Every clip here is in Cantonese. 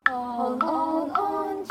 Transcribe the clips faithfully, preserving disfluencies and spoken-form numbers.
On, on, on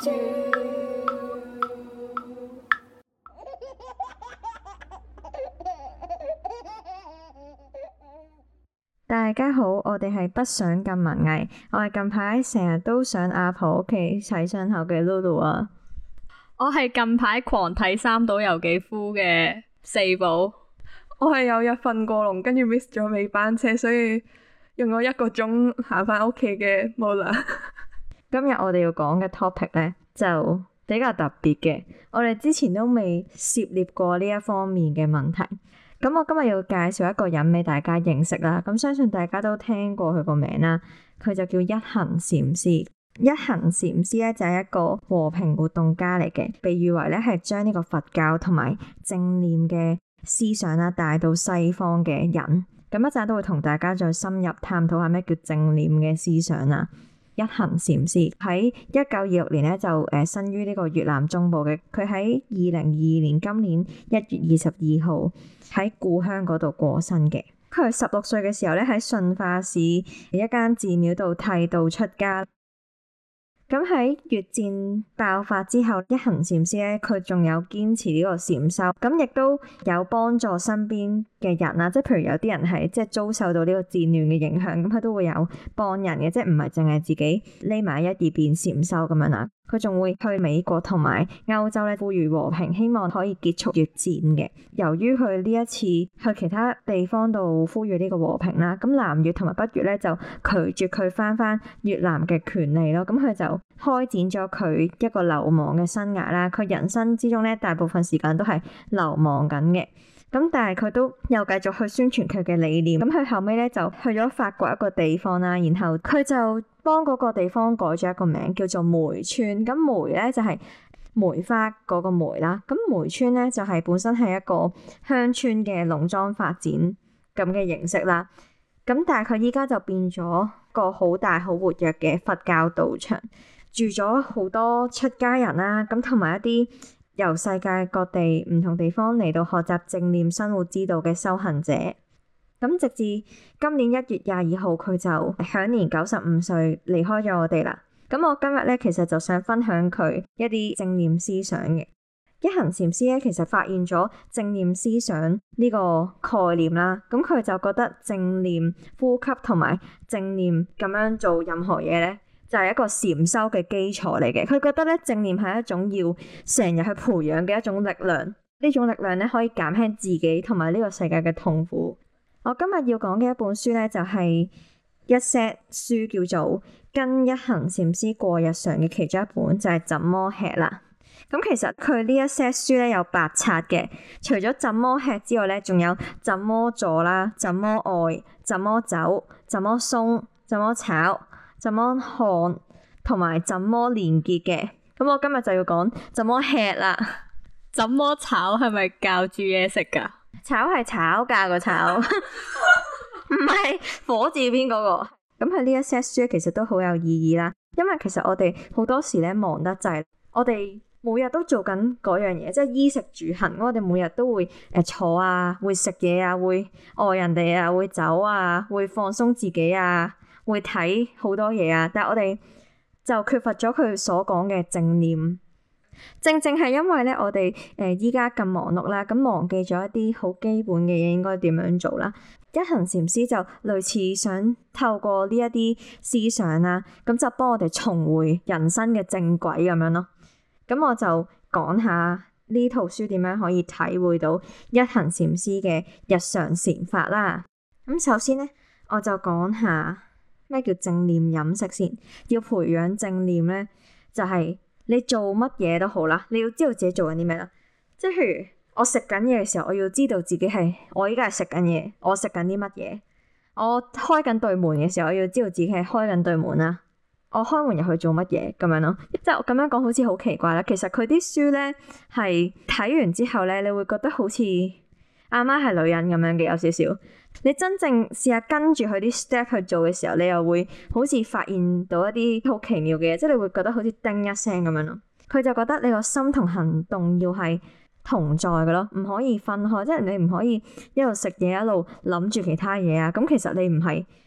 大家好，我哋係不想咁文藝，我係近排成日都上阿婆屋企洗傷口嘅 Lulu 啊。 我係近排狂睇三島由紀夫嘅四寶。 我係有日瞓過籠，跟住 miss 咗尾班車，所以用咗一個鐘行返屋企嘅 Mola。 今日我哋要講嘅 topic 呢，就比較特別嘅，我哋之前都未涉獵過呢一方面嘅問題。咁我今日要介紹一個人俾大家認識啦。咁相信大家都聽過佢個名啦，佢就叫一行禪師。一行禪師咧就係一個和平活動家嚟嘅，被譽為咧係將呢個佛教同埋正念嘅思想啦帶到西方嘅人。咁一陣都會同大家再深入探討下咩叫正念嘅思想啦。一行禪師喺一九二六年咧就誒生於呢個越南中部嘅，佢喺二零二二年今年一月二十二號喺故鄉嗰度過身嘅。佢係十六歲嘅時候咧喺順化市一間寺廟度剃度出家。咁喺越戰爆發之後，一行禪師咧佢仲有堅持呢個禪修，咁亦都有幫助身邊嘅人啊，即係譬如有啲人係即係遭受到呢個戰亂嘅影響，咁佢都會有幫人嘅，即係唔係淨係自己匿埋一二邊禪修咁樣啦。佢仲會去美國同埋歐洲咧呼籲和平，希望可以結束越戰嘅。由於佢呢一次去其他地方度呼籲呢個和平啦，咁南越同埋北越咧就拒絕佢翻翻越南嘅權利咯。咁佢就開展咗佢一個流亡嘅生涯啦。佢人生之中咧大部分時間都係流亡緊嘅。咁但係佢都又繼續去宣傳佢嘅理念。咁佢後尾咧就去咗法國一個地方啦，然後佢就幫嗰個地方改咗一個名叫做梅村。咁梅咧就係梅花嗰個梅啦。咁梅村咧就係本身係一個鄉村嘅農莊發展咁嘅形式啦。咁但係佢依家就變咗個好大好活躍嘅佛教道場，住咗好多出家人啦。咁同埋一啲由世界各地唔同地方嚟到學習正念生活之道嘅修行者。咁直至今年一月廿二號，佢就享年九十五歲離開咗我哋啦。咁我今日咧其實就想分享佢一啲正念思想嘅。一行禪師咧其實發現咗正念思想呢個概念啦，咁佢就覺得正念呼吸同埋正念咁樣做任何嘢咧，就係一個禪修嘅基礎嚟嘅。佢覺得咧正念係一種要成日去培養嘅一種力量，呢種力量咧可以減輕自己同埋呢個世界嘅痛苦。我今日要講嘅一本書咧就係一 set 書，叫做跟一行禪師過日常嘅其中一本，就係怎麼吃啦。咁其實佢呢一 set 書咧有八冊嘅，除咗怎麼吃之外咧，仲有怎麼坐啦、怎麼愛、怎麼走、怎麼鬆、怎麼炒、怎麼看同埋怎麼連結嘅。咁我今日就要講怎麼吃啦。 怎麼炒係咪教煮嘢食噶？ 炒係炒價個炒，唔係火字邊嗰個。咁佢呢一 set 書其實都好有意義啦，因為其實我哋好多時咧忙得滯，我哋每日都做緊嗰樣嘢，即係衣食住行。我哋每日都會誒坐啊，會食嘢啊，會愛人哋啊，會走啊，會放鬆自己啊，會睇好多嘢啊。但係我哋就缺乏咗佢所講嘅正念。正正係因為咧，我哋誒依家咁忙碌啦，咁忘記咗一啲好基本嘅嘢應該點樣做啦。一行禪師就類似想透過呢一啲思想啦，咁就幫我哋重回人生嘅正軌咁樣咯。咁我就講下呢套書點樣可以體會到一行禪師嘅日常禪法啦。咁首先咧，我就講下咩叫正念飲食先。要培養正念咧，就係你做乜嘢都好啦，你要知道自己做緊啲咩啦。即係譬如我食緊嘢嘅時候，我要知道自己係我依家係食緊嘢，我食緊啲乜嘢。我開緊對門嘅時候，我要知道自己係開緊對門啦。我開門入去做乜嘢咁樣咯？即係我咁樣講好似好奇怪啦。其實佢啲書咧係睇完之後咧，你會覺得好似阿媽係女人咁樣嘅，有少少。你真正試下跟住佢啲 step 去做嘅時候，你又會好似發現到一啲好奇妙嘅嘢，即係你會覺得好似叮一聲咁樣咯。佢就覺得你個心同行動要係同在嘅咯，唔可以分開，即係你唔可以一路食嘢一路諗住其他嘢啊。咁其實你唔係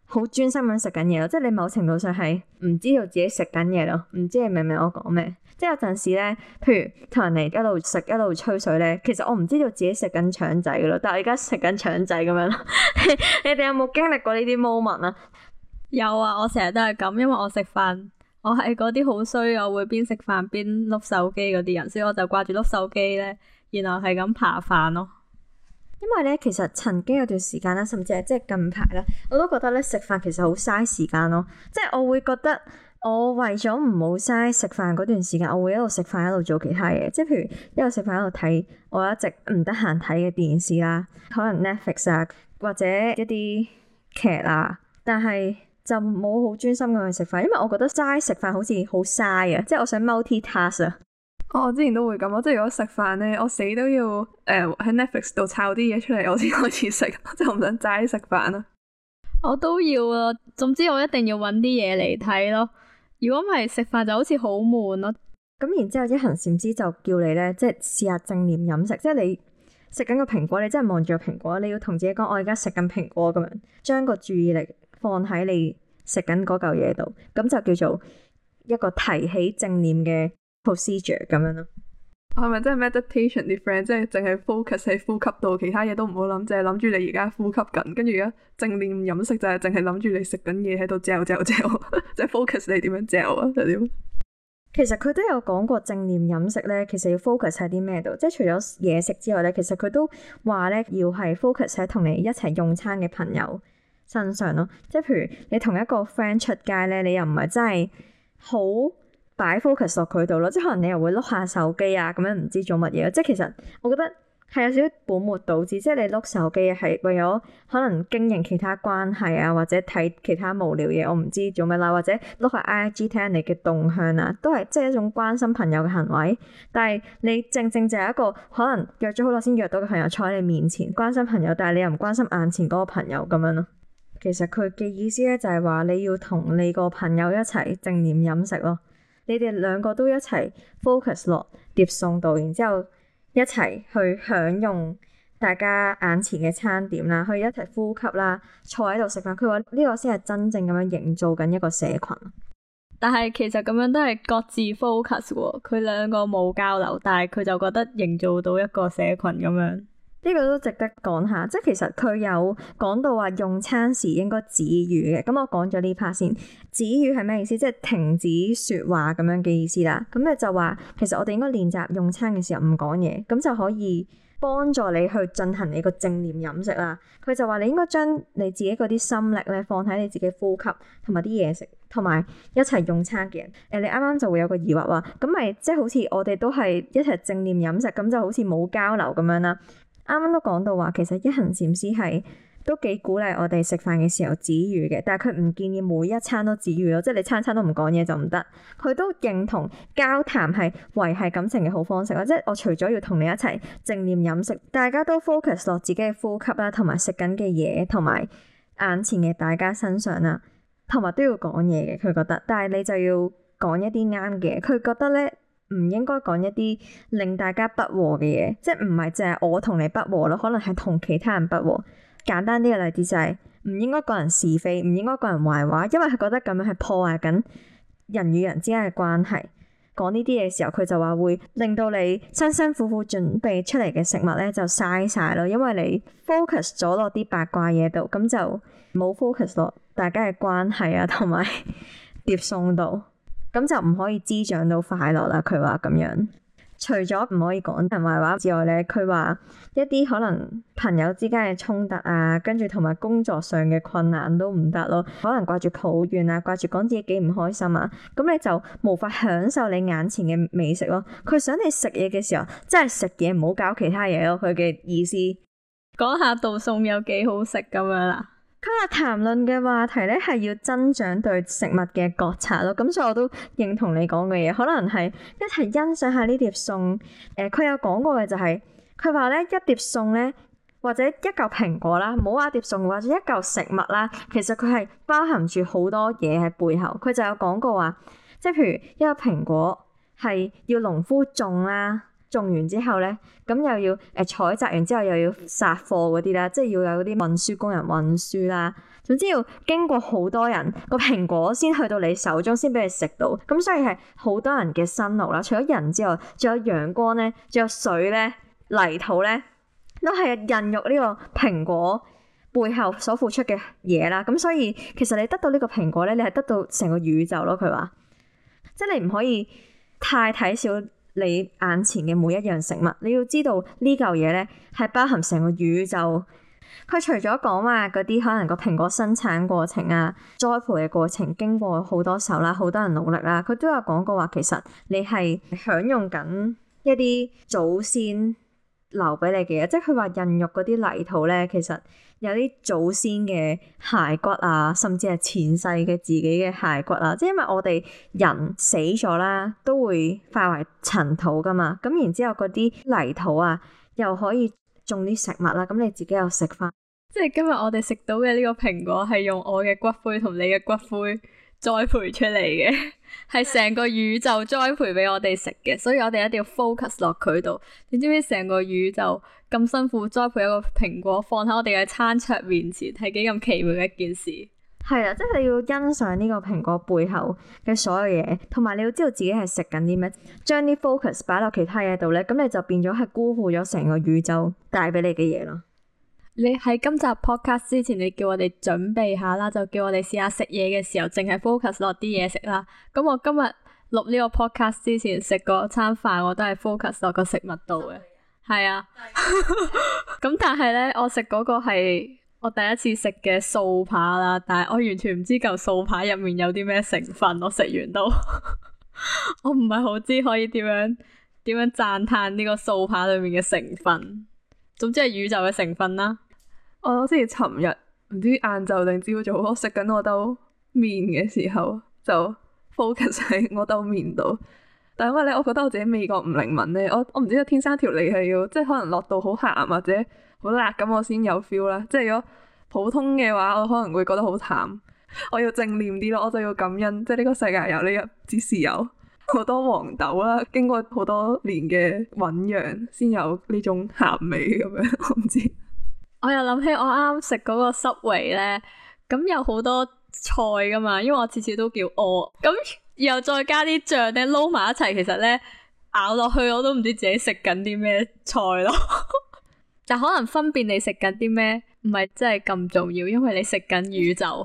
好專心咁食緊嘢咯，即係你某程度上係唔知道自己食緊嘢咯，唔知你明唔明我講咩？即係有陣時咧，譬如同人哋一路食一路吹水咧，其實我唔知道自己食緊腸仔噶咯，但係我而家食緊腸仔咁樣咯。你哋有冇經歷過呢啲 moment 啊？ 有啊，我成日都係咁，因為我食飯，我係嗰啲好衰，我會邊食飯邊碌手機嗰啲人，所以我就掛住碌手機咧，然後係咁扒飯咯。 因為咧，其實曾經有段時間啦，甚至係即係近排啦，我都覺得咧食飯其實好嘥時間咯。即係我會覺得我為咗唔好嘥食飯嗰段時間，我會一路食飯一路做其他嘢。即係譬如一路食飯一路睇我一直唔得閒睇嘅電視啦，可能 Netflix 啊或者一啲劇啊，但係就冇好專心咁去食飯，因為我覺得齋食飯好似好嘥啊！即係我想 multitask 啊。 哦，我之前都會咁，我即係如果食飯咧，我死都要誒喺、呃、Netflix 度抄啲嘢出嚟，我先開始食，即係我唔想齋食飯啊。 我都要啊，總之我一定要搵啲嘢嚟睇咯。如果唔係食飯就好似好悶咯。 咁然之後一行禪師就叫你咧，即係試下正念飲食，即係你食緊個蘋果，你真係望住個蘋果，你要同自己講，我而家食緊蘋果咁樣，將個注意力放喺你食緊嗰嚿嘢度，咁就叫做一個提起正念嘅 procedure 咁樣咯。 係咪真係 meditation 啲 friend，即係淨係 focus 喺呼吸度，其他嘢都唔好諗，淨係諗住你而家呼吸緊，跟住而家正念飲食就係淨係諗住你食緊嘢喺度嚼嚼嚼，即係 focus 你點樣嚼啊？就點？ 其實佢都有講過正念飲食咧，其實要 focus 喺啲咩度？即係除咗嘢食之外咧，其實佢都話咧要係 focus 喺同你一齊用餐嘅朋友身上咯。即係譬如你同一個 friend 出街咧，你又唔係真係好擺 focus 落佢度咯，即係可能你又會碌下手機啊，咁樣唔知做乜嘢。即係其實我覺得係有少少本末倒置，即係你碌手機係為咗可能經營其他關係啊，或者睇其他無聊嘢，我唔知做乜啦，或者碌下 I G 睇人哋嘅動向啊，都係即係一種關心朋友嘅行為。但係你正正就係一個可能約咗好耐先約到嘅朋友坐喺你面前關心朋友，但係你又唔關心眼前嗰個朋友咁樣咯。其實佢嘅意思咧就係話你要同你個朋友一齊正念飲食咯。你哋兩個都一齊 focus 落碟餸度，然之後一齊去享用大家眼前嘅餐點啦，去一齊呼吸啦，坐喺度食飯。佢話呢個先係真正咁樣營造緊一個社群。 但係其實咁樣都係各自 focus 喎，佢兩個冇交流，但係佢就覺得營造到一個社群咁樣。 呢個都值得講下，即係其實佢有講到話用餐時應該止語嘅。咁我講咗呢 part 先，止語係咩意思？即係停止說話咁樣嘅意思啦。咁你就話其實我哋應該練習用餐嘅時候唔講嘢，咁就可以幫助你去進行你個正念飲食啦。佢就話你應該將你自己嗰啲心力咧放喺你自己呼吸同埋啲嘢食，同埋一齊用餐嘅人。誒，你啱啱就會有個疑惑話，咁咪即係好似我哋都係一齊正念飲食，咁就好似冇交流咁樣啦。啱啱都講到話，其實一行禪師係都幾鼓勵我哋食飯嘅時候止語嘅，但係佢唔建議每一餐都止語咯，即係你餐餐都唔講嘢就唔得。佢都認同交談係維繫感情嘅好方式咯，即係我除咗要同你一齊正念飲食，大家都 focus 落自己嘅呼吸啦，同埋食緊嘅嘢，同埋眼前嘅大家身上啦，同埋都要講嘢嘅。佢覺得，但係你就要講一啲啱嘅。佢覺得咧，唔應該講一啲令大家不和嘅嘢，即係唔係淨係我同你不和咯，可能係同其他人不和。簡單啲嘅例子就係唔應該講人是非，唔應該講人壞話，因為佢覺得咁樣係破壞緊人與人之間嘅關係。講呢啲嘢嘅時候，佢就話會令到你辛辛苦苦準備出嚟嘅食物咧就嘥晒咯，因為你 focus 咗落啲八卦嘢度，咁就冇 focus 落大家嘅關係啊，同埋碟餸度。咁就唔可以滋長到快樂啦。佢話咁樣，除咗唔可以講人壞話之外咧，佢話一啲可能朋友之間嘅衝突啊，跟住同埋工作上嘅困難都唔得咯。可能掛住抱怨啊，掛住講自己幾唔開心啊，咁你就無法享受你眼前嘅美食咯。佢想你食嘢嘅時候，真係食嘢，唔好搞其他嘢咯。佢嘅意思， 講下道餸有幾好食咁樣啦。 佢話談論嘅話題咧係要增長對食物嘅覺察咯，咁所以我都認同你講嘅嘢，可能係一齊欣賞下呢碟餸。誒、呃，佢有講過嘅就係、是，佢話咧一碟餸咧，或者一嚿蘋果啦，唔好話碟餸，或者一嚿食物啦，其實佢係包含住好多嘢喺背後。佢就有講過話，即係譬如一個蘋果係要農夫種啦。種完之後咧，咁又要誒採摘完之後又要殺貨嗰啲啦，即係要有啲運輸工人運輸啦， 總之要經過好多人個蘋果先去到你手中，先俾你食到。咁所以係好多人嘅辛勞啦。除咗人之外，仲有陽光咧，仲有水咧，泥土咧，都係孕育呢個蘋果背後所付出嘅嘢啦。咁所以其實你得到呢個蘋果咧，你係得到成個宇宙咯。佢話，即係你唔可以太睇小你眼前嘅每一樣食物，你要知道呢嚿嘢咧係包含成個宇宙。佢除咗講話嗰啲可能個蘋果生產過程啊、栽培嘅過程經過好多手啦、好多人努力啦，佢都有講過話，其實你係享用緊一啲祖先留俾你嘅嘢，即係佢話孕育嗰啲泥土咧，其實有啲祖先嘅骸骨啊，甚至係前世嘅自己嘅骸骨啊，即係因為我哋人死咗啦，都會化為塵土噶嘛，咁然之後嗰啲泥土啊，又可以種啲食物啦，咁你自己又食翻。 即係今日我哋食到嘅呢個蘋果係用我嘅骨灰同你嘅骨灰栽培出嚟嘅，係成個宇宙栽培俾我哋食嘅，所以我哋一定要 focus 落佢度。你知唔知成個宇宙咁辛苦栽培一個蘋果放喺我哋嘅餐桌面前，係幾咁奇妙嘅一件事？ 係啊，即係你要欣賞呢個蘋果背後嘅所有嘢，同埋你要知道自己係食緊啲咩，將啲 focus 擺落其他嘢度咧，咁你就變咗係辜負咗成個宇宙帶俾你嘅嘢咯。 你喺今集 podcast 之前，你叫我哋準備下啦，就叫我哋試下食嘢嘅時候，淨係 focus 落啲嘢食啦。咁我今日錄呢個 podcast 之前食嗰餐飯，我都係 focus 落個食物度嘅。係啊，咁但係咧，我食嗰個係我第一次食嘅素扒啦，但係我完全唔知嚿素扒入面有啲咩成分，我食完都我唔係好知可以點樣點樣讚嘆呢個素扒裏面嘅成分。總之係宇宙嘅成分啦。 我之前尋日唔知晏晝定朝早，我食緊我兜麵嘅時候就 focus 喺我兜麵度。但係因為咧，我覺得我自己味覺唔靈敏咧，我我唔知道天生條脷係要即係可能落到好鹹或者好辣咁，我先有 feel 啦。即係如果普通嘅話，我可能會覺得好淡。我要正念啲咯，我就要感恩，即係呢個世界有呢一支豉油，好多黃豆啦，經過好多年嘅醞釀，先有呢種鹹味咁樣。我唔知。 我又諗起我啱啱食嗰個 Subway 咧，咁有好多菜噶嘛，因為我次次都叫餓，咁然後再加啲醬咧撈埋一齊，其實咧咬落去我都唔知自己食緊啲咩菜咯。但可能分辨你食緊啲咩唔係真係咁重要，因為你食緊宇宙。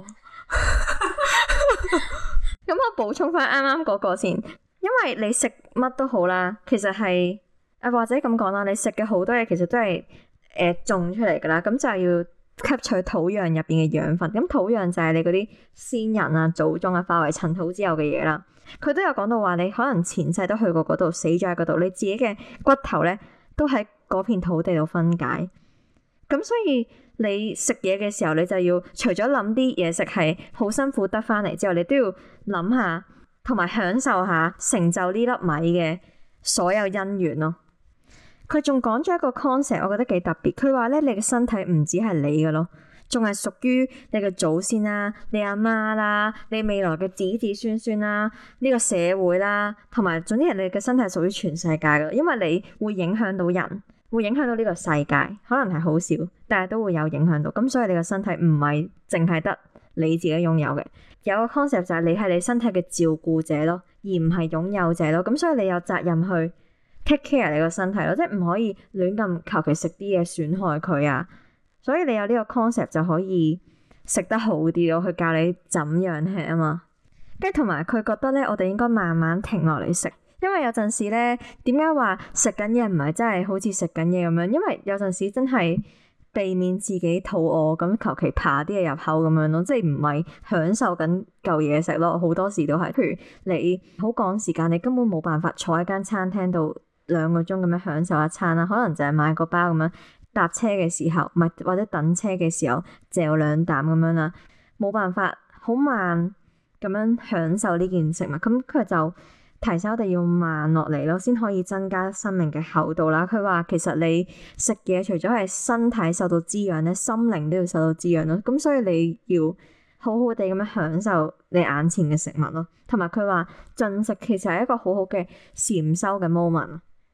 咁我補充翻啱啱嗰個先，因為你食乜都好啦，其實係啊或者咁講啦，你食嘅好多嘢其實都係。誒、呃、種出嚟噶啦，咁就係要吸取土壤入邊嘅養分。咁土壤就係你嗰啲先人啊、祖宗啊化為塵土之後嘅嘢啦。佢都有講到話，你可能前世都去過嗰度，死咗喺嗰度，你自己嘅骨頭咧都喺嗰片土地度分解。咁所以你食嘢嘅時候，你就要除咗諗啲嘢食係好辛苦得翻嚟之後，你都要諗下同埋享受下成就呢粒米嘅所有因緣咯。佢仲講咗一個 concept，我覺得幾特別。佢話咧，你嘅身體唔止係你嘅咯，仲係屬於你嘅祖先啦、你阿媽啦、你未來嘅子子孫孫啦、呢個社會啦，同埋總之人哋嘅身體係屬於全世界嘅，因為你會影響到人，會影響到呢個世界，可能係好少，但係都會有影響到。咁所以你嘅身體唔係淨係得你自己擁有嘅，有個 concept 就係你係你身體嘅照顧者咯，而唔係擁有者咯。咁所以你有責任去take care 你個身體咯，即係唔可以亂咁求其食啲嘢損害佢啊！所以你有呢個 concept 就可以食得好啲咯，去教你怎樣吃啊嘛。跟住同埋佢覺得咧，我哋應該慢慢停落嚟食，因為有陣時咧，點解話食緊嘢唔係真係好似食緊嘢咁樣？因為有陣時真係避免自己肚餓咁求其扒啲嘢入口咁樣咯，即係唔係享受緊嚿嘢食咯。好多時都係，譬如你好趕時間，你根本冇辦法坐喺間餐廳度兩個鐘咁樣享受一餐啦，可能就係買個包咁樣，搭車嘅時候，唔係或者等車嘅時候嚼兩啖咁樣啦，冇辦法好慢咁樣享受呢件食物。咁佢就提醒我哋要慢落嚟咯，先可以增加生命嘅厚度啦。佢話其實你食嘢除咗係身體受到滋養咧，心靈都要受到滋養咯。咁所以你要好好地咁樣享受你眼前嘅食物咯。同埋佢話進食其實係一個好好嘅禪修嘅 moment。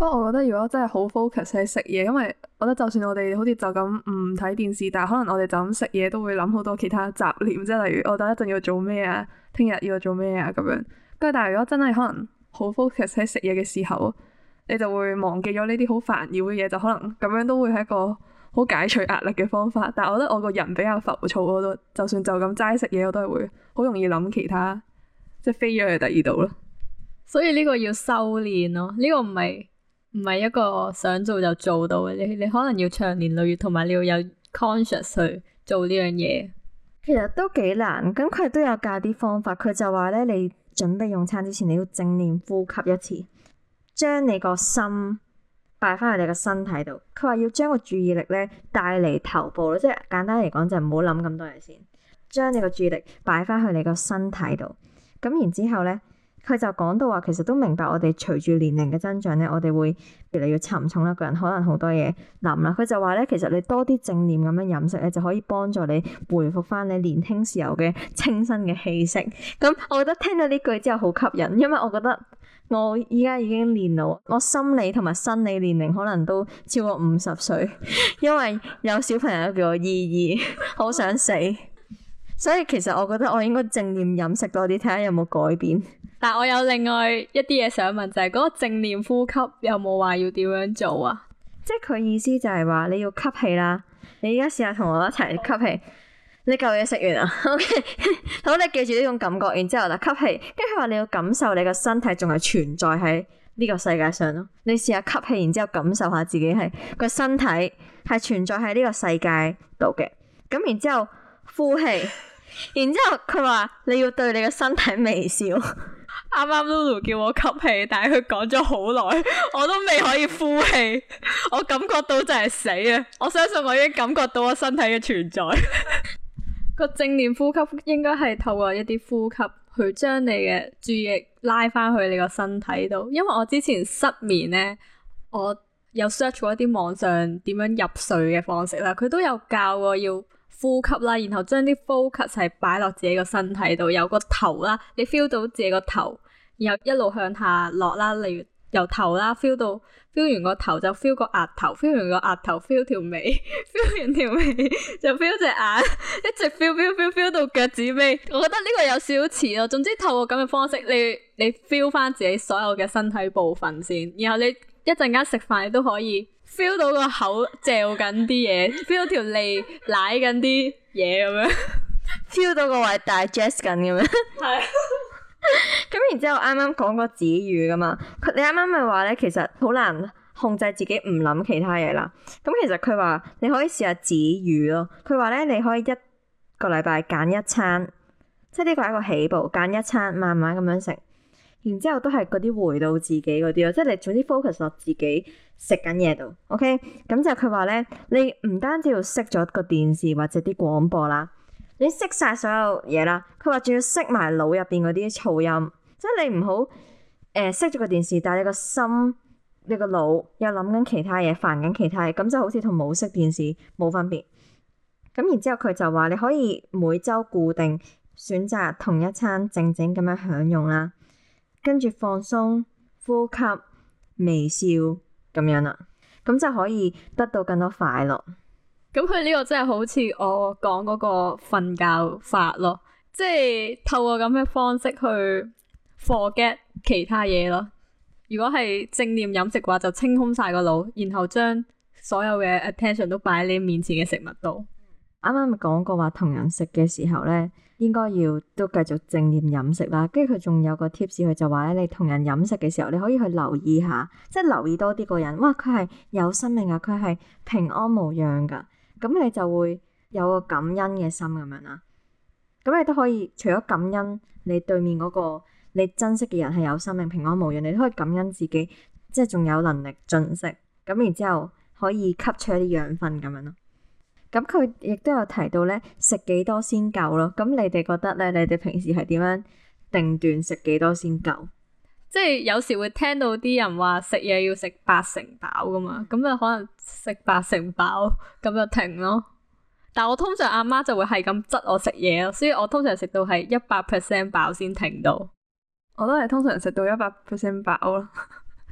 不過我覺得如果真係好 focus 喺食嘢，因為我覺得就算我哋好似就咁唔睇電視，但係可能我哋就咁食嘢都會諗好多其他雜念，即係例如我等一陣要做咩啊，聽日要做咩啊咁樣。跟住但係如果真係可能好 focus 喺食嘢嘅時候，你就會忘記咗呢啲好煩擾嘅嘢，就可能咁樣都會係一個好解除壓力嘅方法。但係我覺得我個人比較浮躁，我都就算就咁齋食嘢，我都係會好容易諗其他，即係飛咗去第二度咯。 所以呢個要修煉咯，呢個唔係唔係一個想做就做到嘅，你你可能要長年累月，同埋你要有 conscious 去做呢樣嘢。 其實都幾難，咁佢都有教啲方法。佢就話咧，你準備用餐之前，你要正念呼吸一次，將你個心擺翻去你個身體度。佢話要將個注意力咧帶嚟頭部咯，即係簡單嚟講就唔好諗咁多嘢先，將你個注意力擺翻去你個身體度。咁然之後咧。佢就講到話，其實都明白我哋隨住年齡嘅增長咧，我哋會越嚟越沉重啦，個人可能好多嘢諗啦。佢就話咧，其實你多啲正念咁樣飲食咧，就可以幫助你恢復翻你年輕時候嘅清新嘅氣息。咁我覺得聽到呢句之後好吸引，因為我覺得我依家已經年老，我心理同埋生理年齡可能都超過五十歲，因為有小朋友叫我姨姨，好想死。所以其實我覺得我應該正念飲食多啲，睇下有冇改變。 但我有另外一啲嘢想問，就係、是、嗰個正念呼吸有冇話要點樣做啊？ 即係佢意思就係話你要吸氣啦，你而家試下同我一齊吸氣。你嚿嘢食完啊 ？OK， 好，你記住呢種感覺，然之後嗱吸氣，跟住佢話你要感受你個身體仲係存在喺呢個世界上咯。你試下吸氣，然之後感受下自己係個身體係存在喺呢個世界度嘅。咁然之後呼氣，然之後佢話你要對你個身體微笑。 啱啱 Lulu 叫我吸氣，但係佢講咗好耐，我都未可以呼氣，我感覺到就係死啊！我相信我已經感覺到我身體嘅存在。個正念呼吸應該係透過一啲呼吸去將你嘅注意力拉翻去你個身體度。因為我之前失眠呢，我有 search 過一啲網上點樣入睡嘅方式啦，佢都有教過要呼吸啦，然後將啲 focus 係擺落自己個身體度，有個頭啦，你 feel 到自己個頭，然後一路向下落啦，例如由頭啦 feel 到 feel 完個頭就 feel 個額頭 feel 完個額頭 feel 條尾 feel 完條尾就 feel 隻眼，一直 feel feel feel feel 到腳趾尾。我覺得呢個有少少似咯。總之透過咁嘅方式，你你 feel 翻自己所有嘅身體部分先，然後你一陣間食飯你都可以 feel 到個口嚼緊啲嘢，feel 到條脷舐緊啲嘢咁樣 ，feel 到個胃 digest 緊咁樣。係。咁然之後啱啱講個止語噶嘛，佢你啱啱咪話咧，其實好難控制自己唔諗其他嘢啦。咁其實佢話你可以試下止語咯。佢話咧，你可以一個禮拜揀一餐，即係呢個係一個起步，揀一餐慢慢咁樣食。然之後都係嗰啲回到自己嗰啲咯，即係你總之 focus 落自己食緊嘢度。OK，咁就佢話咧，你唔單止要熄咗個電視或者啲廣播啦。你熄晒所有嘢啦，佢話仲要熄埋腦入邊嗰啲噪音，即係你唔好誒熄咗個電視，但係你個心、你個腦又諗緊其他嘢，煩緊其他嘢，咁就好似同冇熄電視冇分別。咁然之後佢就話你可以每週固定選擇同一餐靜靜咁樣享用啦，跟住放鬆、呼吸、微笑咁樣啦，咁就可以得到更多快樂。 咁佢呢個真係好似我講嗰個瞓覺法咯，即係透過咁嘅方式去 forget 其他嘢咯。如果係正念飲食嘅話，就清空晒個腦，然後將所有嘅 attention 都擺喺你面前嘅食物度。 啱啱咪講過話同人食嘅時候咧，應該要都繼續正念飲食啦。跟住佢仲有個 tips，佢就話咧，你同人飲食嘅時候，你可以去留意下，即係留意多啲個人。哇，佢係有生命啊，佢係平安無恙噶。咁你就會有個感恩嘅心咁樣啦。咁你都可以除咗感恩你對面嗰個你珍惜嘅人係有生命平安無恙，你都可以感恩自己，即係仲有能力進食。咁然之後可以吸取一啲養分咁樣咯。咁佢亦都有提到咧，食幾多先夠咯。咁你哋覺得咧，你哋平時係點樣定斷食幾多先夠？ 即係有時會聽到啲人話食嘢要食八成飽噶嘛，咁就可能食八成飽咁就停咯。但我通常阿媽就會係咁質我食嘢咯，所以我通常食到係一百 percent 飽先停到。 我都係通常食到一百 percent 飽咯，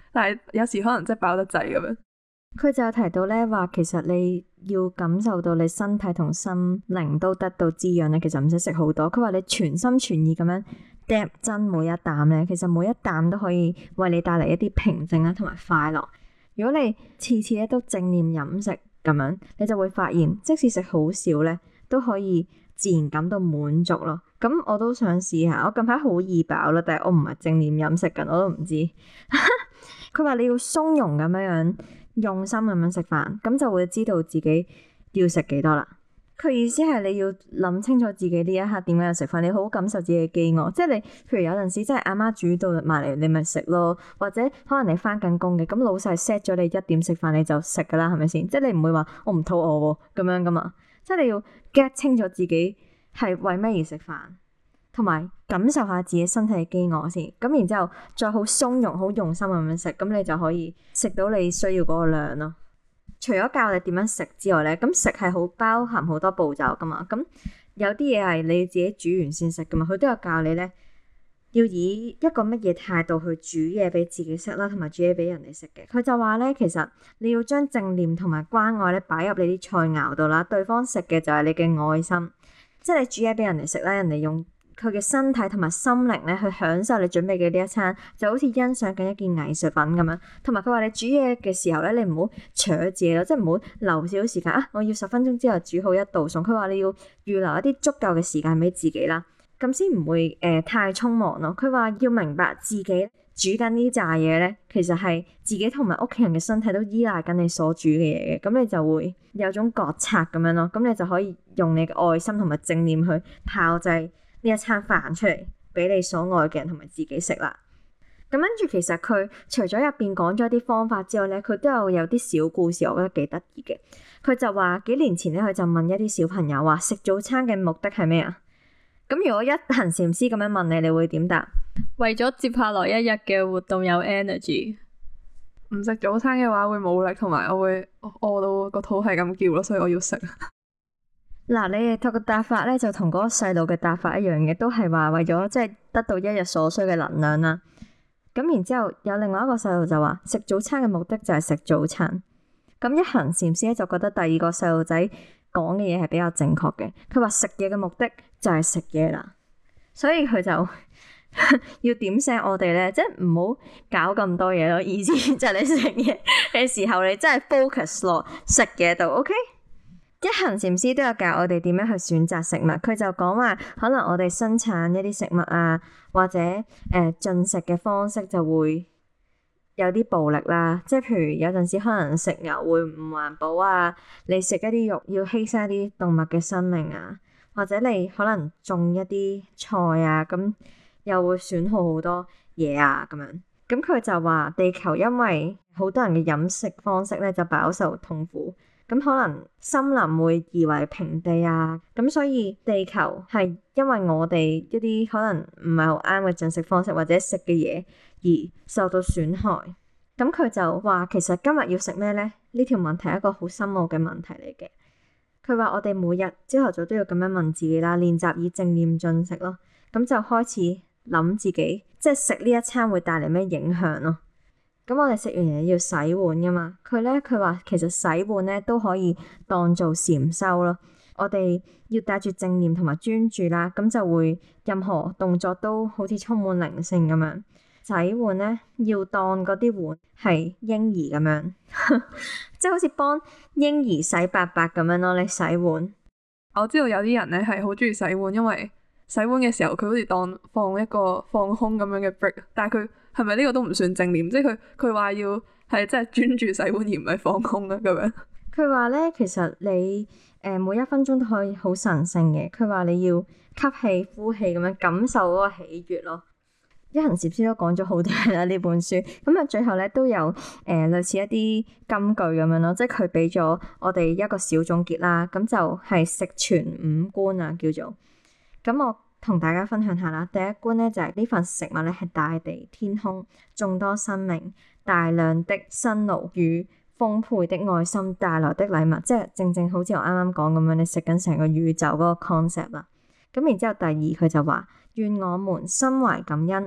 但係有時可能真係飽得滯咁樣。 佢就有提到咧，話其實你要感受到你身體同心靈都得到滋養咧，其實唔使食好多。佢話你全心全意咁樣嗒真每一啖咧，其實每一啖都可以為你帶嚟一啲平靜啦，同埋快樂。如果你次次咧都正念飲食咁樣，你就會發現，即使食好少咧，都可以自然感到滿足咯。咁我都想試下，我近排好易飽啦，但係我唔係正念飲食緊，我都唔知。佢話你要鬆容咁樣樣。用心咁樣食飯，咁就會知道自己要食幾多啦。佢意思係你要諗清楚自己呢一刻點解要食飯，你好好感受自己嘅飢餓。即係你，譬如有陣時真係阿媽煮到埋嚟，你咪食咯。或者可能你返緊工嘅，咁老細 set 咗你一點食飯，你就食噶啦，係咪先？即係你唔會話我唔肚餓喎咁樣噶嘛。即係你要 get 清楚自己係為咩而食飯，同埋感受下自己身體嘅飢餓先。咁然之後再好鬆容、好用心咁樣食，咁你就可以食到你需要嗰個量咯。除咗教你點樣食之外咧，咁食係好包含好多步驟噶嘛。咁有啲嘢係你自己煮完先食噶嘛。佢都有教你咧，要以一個乜嘢態度去煮嘢俾自己食啦，同埋煮嘢俾人哋食嘅。佢就話咧，其實你要將正念同埋關愛咧擺入你啲菜肴度啦。對方食嘅就係你嘅愛心，即係你煮嘢俾人哋食咧，人哋用佢嘅身體同埋心靈咧，去享受你準備嘅呢一餐，就好似欣賞緊一件藝術品咁樣。同埋佢話你煮嘢嘅時候咧，你唔好搶自己咯，即係唔好留少少時間啊！我要十分鐘之後煮好一道餸。佢話你要預留一啲足夠嘅時間俾自己啦，咁先唔會誒、呃、太匆忙咯。佢話要明白自己煮緊呢扎嘢咧，其實係自己同埋屋企人嘅身體都依賴緊你所煮嘅嘢嘅，咁你就會有種覺察咁樣咯。咁你就可以用你嘅愛心同埋正念去炮製呢一餐飯出嚟俾你所愛嘅人同埋自己食啦。咁跟住其實佢除咗入邊講咗啲方法之外咧，佢都有有啲小故事，我覺得幾得意嘅。佢就話幾年前咧，佢就問一啲小朋友話食早餐嘅目的係咩啊？咁如果一行禪師咁樣問你，你會點答？ 為咗接下來一日嘅活動有 energy。 唔食早餐嘅話會冇力，同埋我會餓到個肚係咁叫咯，所以我要食。 嗱，你哋個答法咧就同嗰個細路嘅答法一樣嘅，都係話為咗即係得到一日所需嘅能量啦。咁然之後有另外一個細路就話食早餐嘅目的就係食早餐。咁一行禪師咧就覺得第二個細路仔講嘅嘢係比較正確嘅。佢話食嘢嘅目的就係食嘢啦，所以佢就要點醒我哋咧，即係唔好搞咁多嘢咯。意思就係你食嘢嘅時候，你真係 focus 落食嘢度，OK？一行禪師都有教我哋點樣去選擇食物。佢就講話，可能我哋生產一啲食物啊，或者誒進食嘅方式就會有啲暴力啦。即係譬如有陣時可能食牛會唔環保啊，你食一啲肉要犧牲一啲動物嘅生命啊，或者你可能種一啲菜啊，咁又會損耗好多嘢啊咁樣。咁佢就話地球因為好多人嘅飲食方式咧就飽受痛苦。咁可能森林會夷為平地啊，咁所以地球係因為我哋一啲可能唔係好啱嘅進食方式或者食嘅嘢而受到損害。咁佢就話其實今日要食咩咧？呢條問題係一個好深奧嘅問題嚟嘅。佢話我哋每日朝頭早都要咁樣問自己啦，練習以正念進食咯。咁就開始諗自己即係食呢一餐會帶嚟咩影響咯。咁我哋食完嘢要洗碗噶嘛？佢咧佢話其實洗碗咧都可以當做禪修咯。我哋要帶住正念同埋專注啦，咁就會任何動作都好似充滿靈性咁樣。洗碗咧要當嗰啲碗係嬰兒咁樣，即係好似幫嬰兒洗白白咁樣咯。你洗碗， 我知道有啲人咧係好中意洗碗，因為洗碗嘅時候佢好似當放一個放空咁樣嘅 break，但係佢。係咪呢個都唔算正念？即係佢佢話要係真係專注洗碗而唔係放空啊咁樣。 佢話咧，其實你誒、呃、每一分鐘都可以好神聖嘅。佢話你要吸氣、呼氣咁樣感受嗰個喜悅咯。一行禪師都講咗好多嘢啦呢本書。咁啊，最後咧都有誒、呃、類似一啲金句咁樣咯，即係佢俾咗我哋一個小總結啦。咁就係食全五觀啊，叫做。咁我同大家分享下啦，第一觀咧就係、是、呢份食物咧係大地、天空、眾多生命、大量的辛勞與豐沛的愛心帶來的禮物，即係正正好似我啱啱講咁樣，你食緊成個宇宙嗰個 concept 啦。咁然之後第二佢就話，願我們心懷感恩，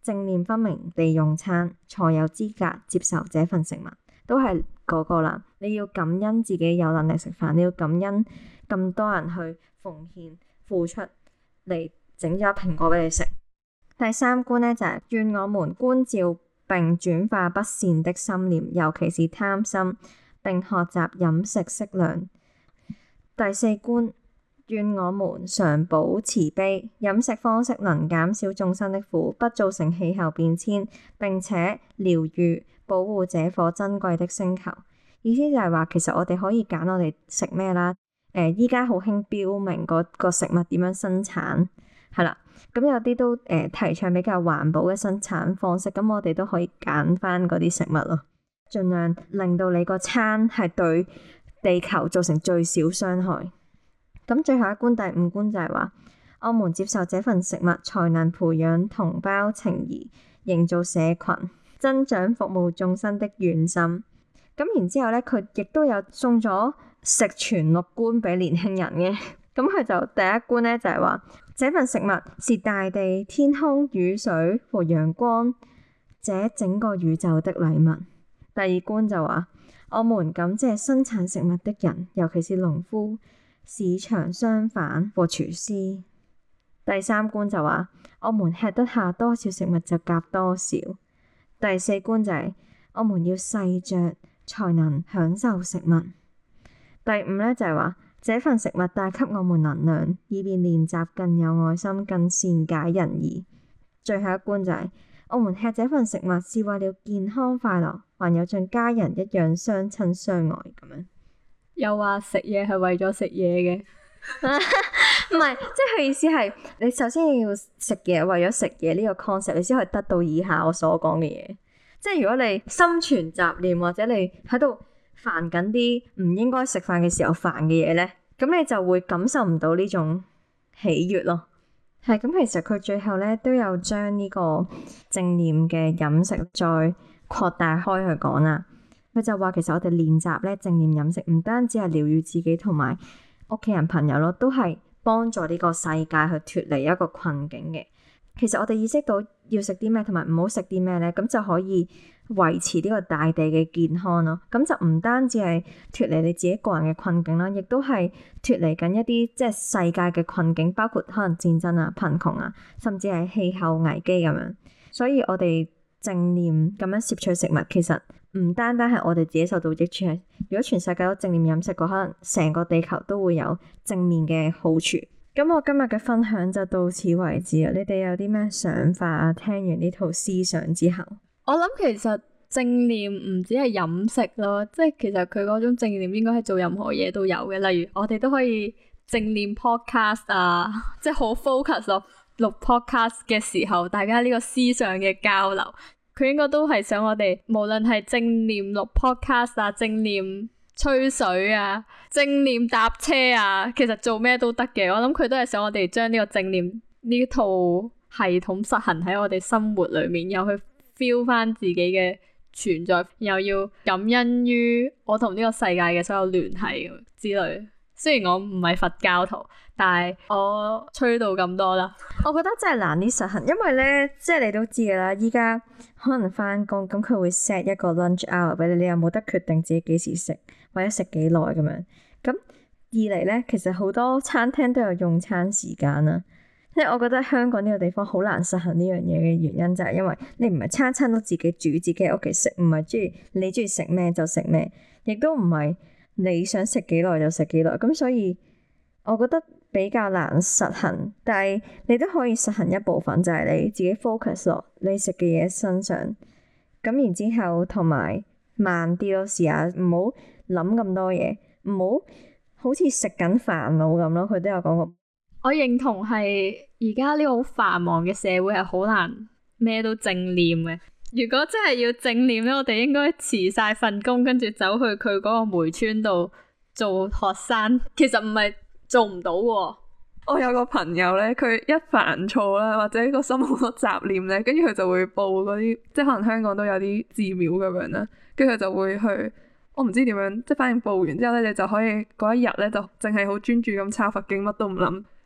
正念分明地用餐，才有資格接受這份食物，都係嗰個啦。你要感恩自己有能力食飯，你要感恩咁多人去奉獻付出嚟整咗蘋果俾你食。第三觀呢，就係、是、願我們觀照並轉化不善的心念，尤其是貪心，並學習飲食適量。第四觀，願我們常保慈悲，飲食方式能減少眾生的苦，不造成氣候變遷，並且療癒保護這顆珍貴的星球。意思就係話，其實我哋可以揀我哋食咩啦。誒、呃，依家好興標明嗰個食物點樣生產，係啦。咁有啲都誒、呃、提倡比較環保嘅生產方式，咁我哋都可以揀翻嗰啲食物咯，盡量令到你個餐係對地球造成最少傷害。咁最後一觀，第五觀就係話，我們接受這份食物，才能培養同胞情誼，營造社群，增長服務眾生的願心。咁然之後咧，佢亦都有送咗食全六觀俾年輕人嘅。咁佢就第一觀咧就係話，這份食物是大地、天空、雨水和陽光這整個宇宙的禮物。第二觀就話，我們感謝生產食物的人，尤其是農夫、市場商販和廚師。第三觀就話，我們吃得下多少食物就夾多少。第四觀就係，我們要細嚼才能享受食物。第五咧就係話，這份食物帶給我們能量，以便練習更有愛心、更善解人意。最後一觀就係、是，我們吃這份食物是為了健康快樂，還有像家人一樣相親相愛咁樣。 又話食嘢係為咗食嘢嘅， 唔係，即係佢意思係你首先要食嘢，為咗食嘢呢個 concept，你先可以得到以下我所講嘅嘢。即係如果你心存雜念，或者你喺度煩緊啲唔應該食飯嘅時候煩嘅嘢咧，咁你就會感受唔到呢種喜悅咯。係咁，其實佢最後咧都有將呢個正念嘅飲食再擴大開去講啦。佢就話其實我哋練習咧正念飲食，唔單止係療癒自己同埋屋企人朋友咯，都係幫助呢個世界去脫離一個困境嘅。其實我哋意識到要食啲咩同埋唔好食啲咩咧，咁就可以維持呢個大地嘅健康咯。咁就唔單止係脫離你自己個人嘅困境啦，亦都係脫離緊一啲即係世界嘅困境，包括可能戰爭啊、貧窮啊，甚至係氣候危機咁樣。所以我哋正念咁樣攝取食物，其實唔單單係我哋自己受到益處，如果全世界都正念飲食嘅，可能成個地球都會有正面嘅好處。咁我今日嘅分享就到此為止啦。你哋有啲咩想法啊？聽完呢套思想之後， 我諗其實正念唔止係飲食咯，即係其實佢嗰種正念應該係做任何嘢都有嘅。例如我哋都可以正念 podcast 啊，即係好 focus 咯。錄 podcast 嘅時候，大家呢個思想嘅交流，佢應該都係想我哋無論係正念錄 podcast 啊，正念吹水啊，正念搭車啊，其實做咩都得嘅。我諗佢都係想我哋將呢個正念呢套系統實行喺我哋生活裏面，又去 feel 翻自己嘅存在，又要感恩於我同呢個世界嘅所有聯繫之類。雖然我唔係佛教徒，但係我吹到咁多啦。 我覺得真係難啲實行，因為咧，即係你都知噶啦，依家可能翻工，咁佢會 set 一個 lunch hour 俾你，你又冇得決定自己幾時食，或者食幾耐咁樣。咁二嚟咧，其實好多餐廳都有用餐時間啦。即係我覺得香港呢個地方好難實行呢樣嘢嘅原因，就係因為你唔係餐餐都自己煮，自己喺屋企食，唔係中意你中意食咩就食咩，亦都唔係你想食幾耐就食幾耐，咁所以我覺得比較難實行。但係你都可以實行一部分，就係你自己 focus 落你食嘅嘢身上，咁然之後同埋慢啲咯，試下唔好諗咁多嘢，唔好好似食緊煩惱咁咯。佢都有講過， 我認同係而家呢個好繁忙嘅社會係好難咩都正念嘅。如果真係要正念咧，我哋應該辭晒份工，跟住走去佢嗰個梅村度做學生。其實唔係做唔到喎。 我有個朋友咧，佢一煩躁啦，或者個心好多雜念咧，跟住佢就會報嗰啲，即係可能香港都有啲寺廟咁樣啦，跟住佢就會去，我唔知點樣，即係反正報完之後咧，你就可以嗰一日咧就淨係好專注咁抄佛經，乜都唔諗，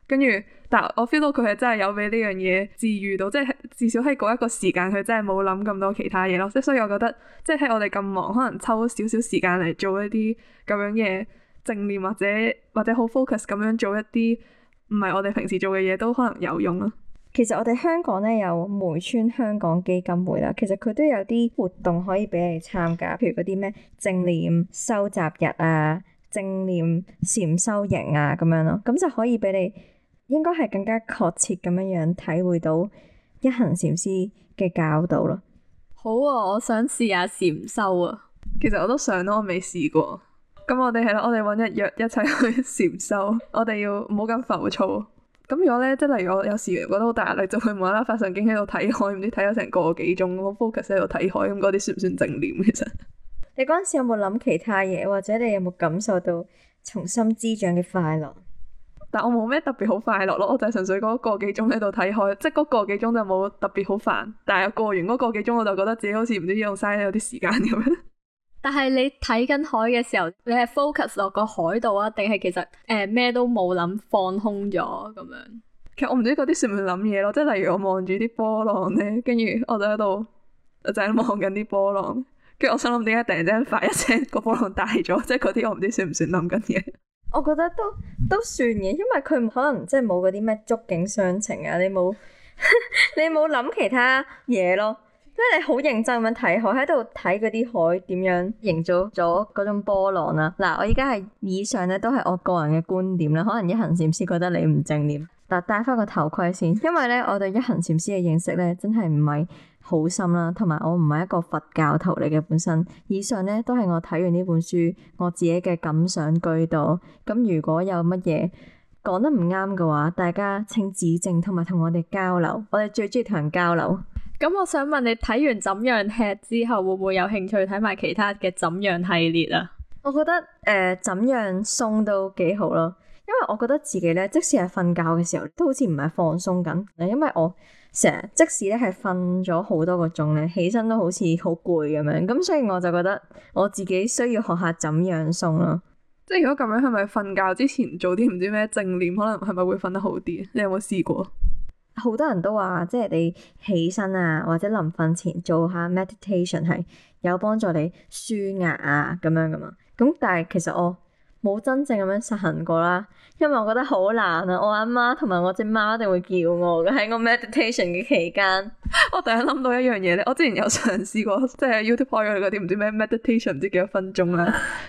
跟住但我 feel 到佢係真係有俾呢樣嘢治癒到，即係至少喺嗰一個時間佢真係冇諗咁多其他嘢咯。即係所以我覺得即係喺我哋咁忙，可能抽少少時間嚟做一啲咁樣嘅正念，或者或者好 focus 咁樣做一啲唔係我哋平時做嘅嘢，都可能有用咯。 其實我哋香港咧有梅村香港基金會啦，其實佢都有啲活動可以俾你參加，譬如嗰啲咩正念收集日啊、正念禪修營啊咁樣咯，咁就可以俾你應該係更加確切咁樣樣體會到一行禪師嘅教導咯。 好啊，我想試下禪修啊。 其實我都想咯，我未試過。咁我哋係咯，我哋搵一約一齊去禪修，我哋要唔好咁浮躁。咁如果咧，即係例如我有時覺得好大壓力，就會無啦啦發神經喺度睇海，唔知睇咗成個幾鐘，我 focus 喺度睇海，咁嗰啲算唔算正念？其實你嗰陣時有冇諗其他嘢，或者你有冇感受到從心滋長嘅快樂？ 但我冇咩特別好快樂咯，我就係純粹嗰個幾鐘喺度睇海，即係嗰個幾鐘就冇特別好煩。但係過完嗰個幾鐘，我就覺得自己好似唔知用晒有啲時間咁樣。 但係你睇緊海嘅時候，你係 focus 落個海度啊，定係其實誒咩、呃、都冇諗，放空咗咁樣？ 其實我唔知嗰啲算唔算諗嘢咯，即係例如我望住啲波浪咧，跟住我就喺度就喺度望緊啲波浪，跟住我想諗點解突然之間發一聲個波浪大咗，即係嗰啲我唔知算唔算諗緊嘢。 我覺得都都算嘅，因為佢可能即係冇嗰啲咩觸景傷情啊，你冇你冇諗其他嘢咯。即係你好認真咁樣睇海，喺度睇嗰啲海點樣營造咗嗰種波浪啦。嗱，我而家係以上咧都係我個人嘅觀點啦，可能一行禪師覺得你唔正念。嗱，戴翻個頭盔先，因為咧我對一行禪師嘅認識咧真係唔係好深啦，同埋我唔係一個佛教徒嚟嘅本身。以上咧都係我睇完呢本書我自己嘅感想居多。咁如果有乜嘢講得唔啱嘅話，大家請指正同埋同我哋交流。我哋最中意同人交流。 咁我想問你睇完怎樣吃之後，會唔會有興趣睇埋其他嘅怎樣系列啊？ 我覺得誒、呃、怎樣鬆都幾好咯，因為我覺得自己咧，即使係瞓覺嘅時候，都好似唔係放鬆緊。因為我成日即使咧係瞓咗好多個鐘咧，起身都好似好攰咁樣，咁所以我就覺得我自己需要學下怎樣鬆咯。 即係如果咁樣，係咪瞓覺之前做啲唔知咩正念，可能係咪會瞓得好啲？你有冇試過？ 好多人都話，即係你起身啊，或者臨瞓前做下 meditation 係有幫助你舒壓啊咁樣噶嘛。咁但係其實我冇真正咁樣實行過啦，因為我覺得好難啊。我阿媽同埋我隻貓一定會叫我嘅喺我 meditation 嘅期間。 我突然諗到一樣嘢咧，我之前有嘗試過，即係 YouTube 開咗嗰啲唔知咩 meditation 唔知幾多分鐘啦。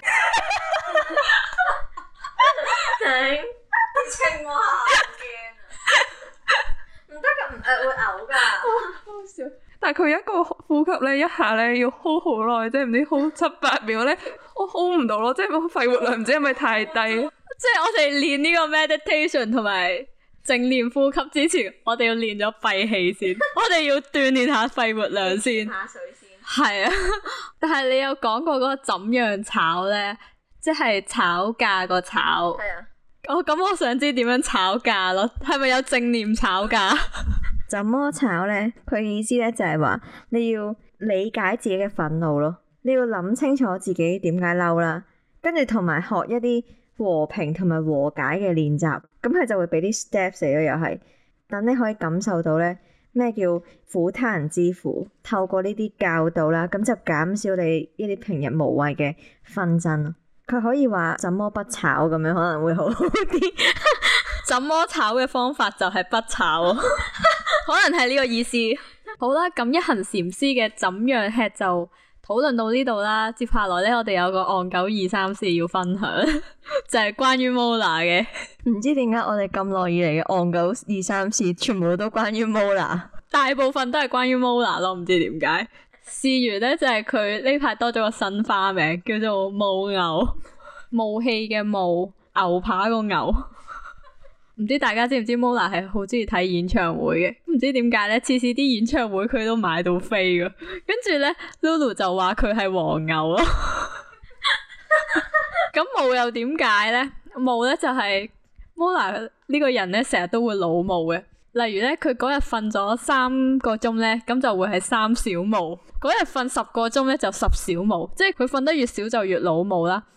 頂青蛙好驚啊！唔得㗎，誒會嘔㗎。好笑。 但係佢一個呼吸咧，一下咧要 hold 好耐，即係唔知 hold 七八秒咧，我 hold 唔到咯，即係肺活量唔知係咪太低。 即係我哋練呢個 meditation 同埋正念呼吸之前，我哋要練咗閉氣先，我哋要鍛煉下肺活量先。 下水先。 係啊，但係你有講過嗰個怎樣炒咧，即係炒價個炒。係啊。我咁、哦、我想知點樣炒價咯，係咪有正念炒價？ 怎麼炒咧？佢意思咧就係話你要理解自己嘅憤怒咯，你要諗清楚自己點解嬲啦，跟住同埋學一啲和平同埋和解嘅練習，咁佢就會俾啲 steps 嚟咯，又係等你可以感受到咧咩叫苦他人之苦，透過呢啲教導啦，咁就減少你一啲平日無謂嘅紛爭咯。佢可以話怎麼不炒咁樣可能會好好啲。 怎麼炒嘅方法就係不炒，可能係呢個意思。好啦，咁一行禪師嘅怎樣吃就討論到呢度啦。接下來咧，我哋有個岸久二三事要分享，就係關於 Mola 嘅。 唔知點解我哋咁耐以嚟嘅岸久二三事全部都關於 Mola， 大部分都係關於 Mola 咯，唔知點解。事緣咧就係佢呢排多咗個新花名，叫做霧牛，霧氣嘅霧，牛扒個牛。唔知大家知唔知 Mola 係好中意睇演唱會嘅？唔知點解咧，次次啲演唱會佢都買到飛噶。跟住咧 Lulu 就話佢係黃牛咯。咁霧又點解咧？霧咧就係、是、Mola 呢個人咧，成日都會老霧嘅。例如咧，佢嗰日瞓咗三個鐘咧，咁就會係三小霧；嗰日瞓十個鐘咧，就十小霧。即係佢瞓得越少就越老霧啦。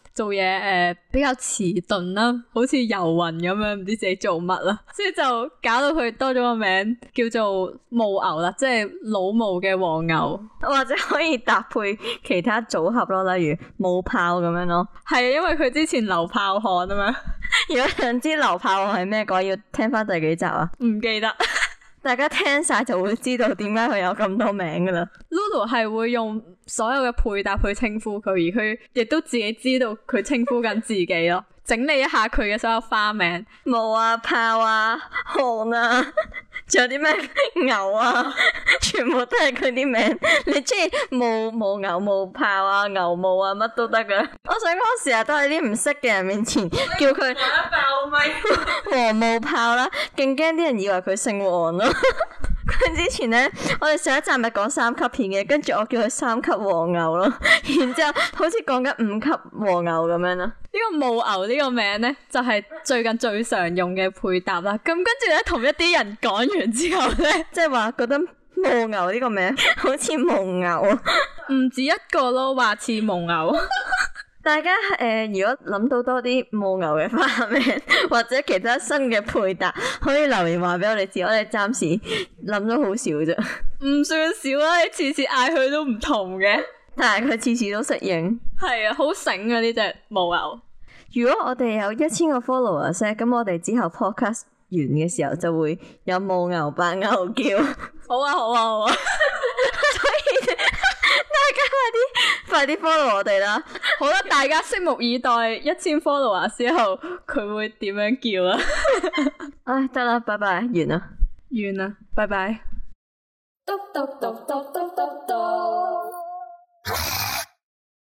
做嘢誒、呃、比較遲鈍啦，好似遊魂咁樣，唔知自己做乜啦，所以就搞到佢多咗個名叫做毛牛啦，即係老毛嘅黃牛， 或者可以搭配其他組合咯，例如冒泡咁樣咯。 係啊，因為佢之前流泡汗啊嘛。 如果想知流泡汗係咩嘅話，要聽翻第幾集啊？ 唔記得。 大家聽晒就會知道點解佢有咁多名噶啦。 Lulu 係會用所有嘅配搭去稱呼佢，而佢亦都自己知道佢稱呼緊自己咯。整理一下佢嘅所有花名， 毛啊、泡啊、汗啊，仲有啲咩牛啊，全部都係佢啲名。你中意毛毛牛、毛泡啊、牛毛啊，乜都得噶。我想講成日都喺啲唔識嘅人面前叫佢爆咪黃毛泡啦，勁驚啲人以為佢姓黃咯。佢之前咧，我哋上一集咪講三級片嘅，跟住我叫佢三級黃牛咯，然之後好似講緊五級黃牛咁樣啦。 呢個毛牛呢個名咧，就係最近最常用嘅配搭啦。咁跟住咧，同一啲人講完之後咧， 即係話覺得毛牛呢個名好似蒙牛， 唔止一個咯，話似蒙牛。 大家誒、呃，如果諗到多啲毛牛嘅花名或者其他新嘅配搭，可以留言話俾我哋知。我哋暫時諗咗好少啫， 唔算少啦。你次次嗌佢都唔同嘅， 但係佢次次都適應。 係啊，好醒啊呢隻毛牛。 如果我哋有一千個 followers 咧，咁我哋之後 podcast 完嘅時候就會有毛牛扮牛叫。 好啊，好啊，好啊。 所以大家快啲快啲 follow 我哋啦。 好啦，大家拭目以待一千 follower 之後佢會點樣叫啊？ 唉，得啦，拜拜，完啦， 完啦，拜拜。 嘟嘟嘟嘟嘟嘟嘟